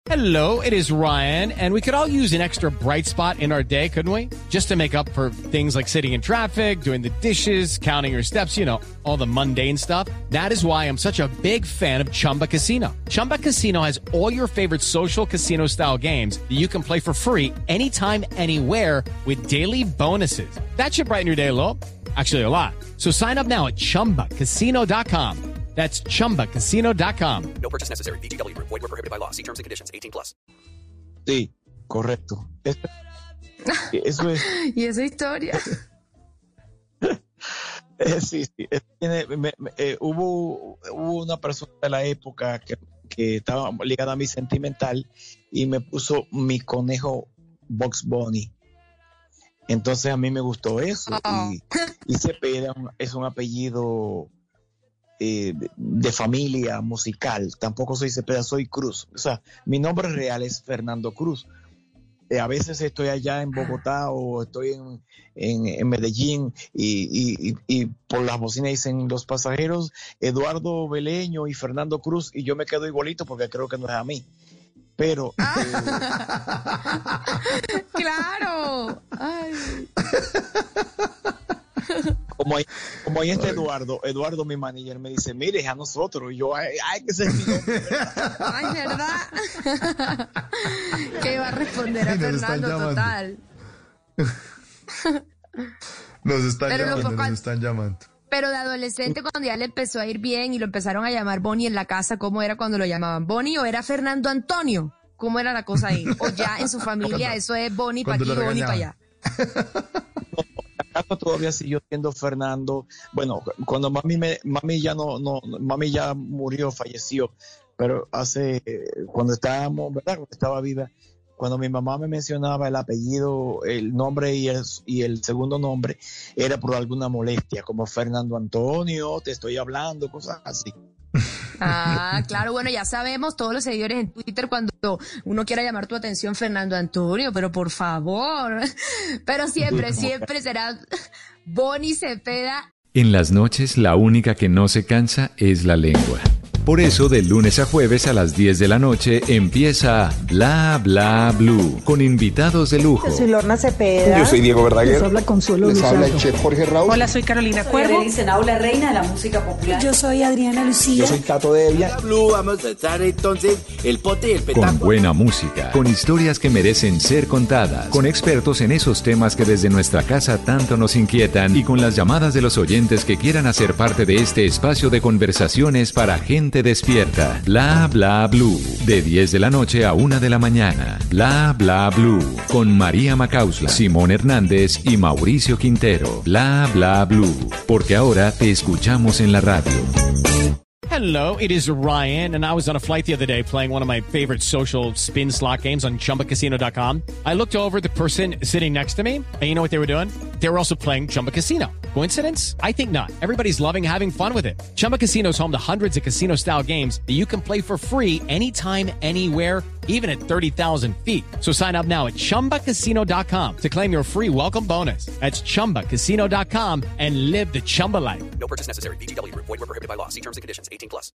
Hello, it is Ryan, and we could all use an extra bright spot in our day, couldn't we? Just to make up for things like sitting in traffic, doing the dishes, counting your steps, you know, all the mundane stuff. That is why I'm such a big fan of Chumba Casino. Chumba Casino has all your favorite social casino-style games that you can play for free anytime, anywhere with daily bonuses. That should brighten your day a little. Actually, a lot. So sign up now at ChumbaCasino.com. That's ChumbaCasino.com. No purchase necessary. VGW Group. Void where prohibited by law. See terms and conditions. 18+. Sí, correcto. Eso es. ¿Y esa historia? Sí. Hubo una persona de la época que estaba ligada a mi sentimental y me puso mi conejo Bugs Bunny. Entonces a mí me gustó eso. Y Cepeda es un apellido de familia musical. Tampoco soy Cepeda, soy Cruz. O sea, mi nombre real es Fernando Cruz. A veces estoy allá en Bogotá o estoy en Medellín y por las bocinas dicen los pasajeros Eduardo Beleño y Fernando Cruz y yo me quedo igualito porque creo que no es a mí. Pero ¡claro! Ay. Como ahí está Eduardo mi manager me dice, mire, es a nosotros, y yo, ay, que se mi nombre. Ay, ¿verdad? ¿Qué iba a responder a Fernando total? Nos están llamando. Pero de adolescente, cuando ya le empezó a ir bien y lo empezaron a llamar Bonnie en la casa, ¿cómo era cuando lo llamaban? ¿Bonnie o era Fernando Antonio? ¿Cómo era la cosa ahí? O ya en su familia eso es Bonnie para aquí, Bonnie para allá. Acá todavía siguió siendo Fernando. Bueno, cuando mami ya murió, falleció, pero cuando estábamos, ¿verdad? Cuando estaba viva, cuando mi mamá me mencionaba el apellido, el nombre y el segundo nombre, era por alguna molestia, como Fernando Antonio, te estoy hablando, cosas así. Ah, claro, bueno, ya sabemos, todos los seguidores en Twitter, cuando uno quiera llamar tu atención, Fernando Antonio, pero por favor, pero siempre será Bonnie Cepeda. En las noches, la única que no se cansa es la lengua. Por eso, de lunes a jueves a las 10 de la noche empieza Bla Bla Blue, con invitados de lujo. Yo soy Lorna Cepeda. Yo soy Diego Verdaguer. Les habla Consuelo Les Luzardo. habla el chef Jorge Raúl. Hola, soy Carolina Cuervo. La reina de la música popular. Yo soy Adriana Lucía. Yo soy Tato Devia. Blue, vamos a estar entonces el pote y el petaco. Con buena música, con historias que merecen ser contadas, con expertos en esos temas que desde nuestra casa tanto nos inquietan y con las llamadas de los oyentes que quieran hacer parte de este espacio de conversaciones para gente despierta. Bla Bla Blue, de 10 de la noche a 1 de la mañana. Bla Bla Blue, con María Macausla, Simón Hernández y Mauricio Quintero. Bla Bla Blue, porque ahora te escuchamos en la radio. Hello, it is Ryan, and I was on a flight the other day playing one of my favorite social spin slot games on ChumbaCasino.com. I looked over at the person sitting next to me, and you know what they were doing? They were also playing Chumba Casino. Coincidence? I think not. Everybody's loving having fun with it. Chumba Casino is home to hundreds of casino-style games that you can play for free anytime, anywhere, even at 30,000 feet. So sign up now at ChumbaCasino.com to claim your free welcome bonus. That's ChumbaCasino.com and live the Chumba life. No purchase necessary. VGW Group. Void where prohibited by law. See terms and conditions. 18+.